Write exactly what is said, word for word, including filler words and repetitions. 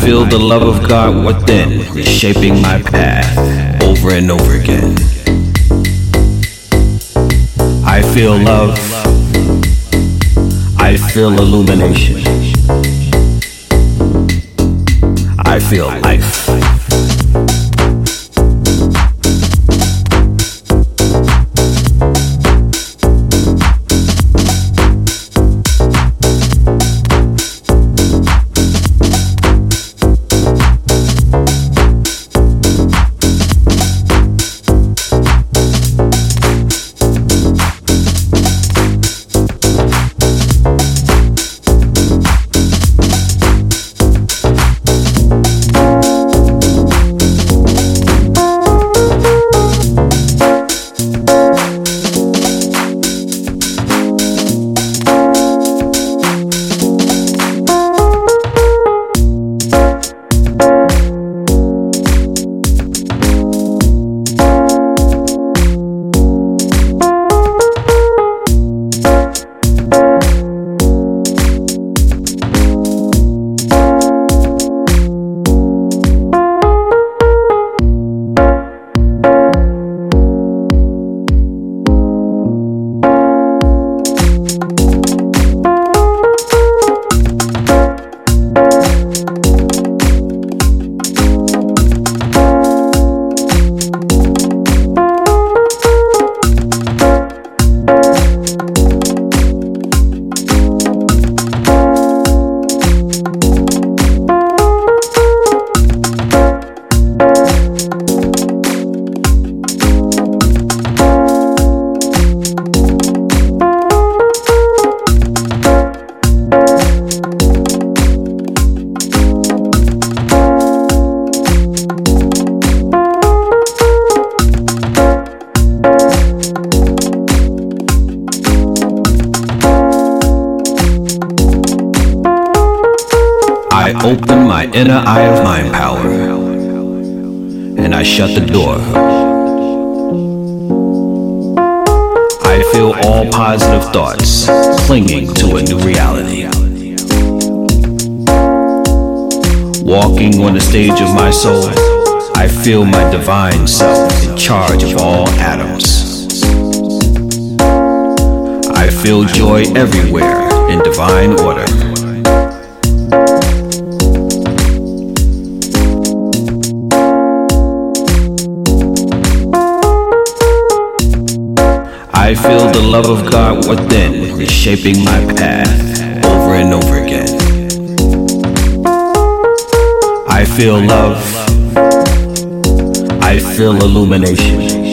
feel the love of God within, shaping my path over and over again. I feel love. I feel illumination. I feel life. I open my inner eye of mind power, and I shut the door. I feel all positive thoughts clinging to a new reality. Walking on the stage of my soul, I feel my divine self in charge of all atoms. I feel joy everywhere in divine order. I feel the love of God within, shaping my path over and over again. I feel love. I feel illumination.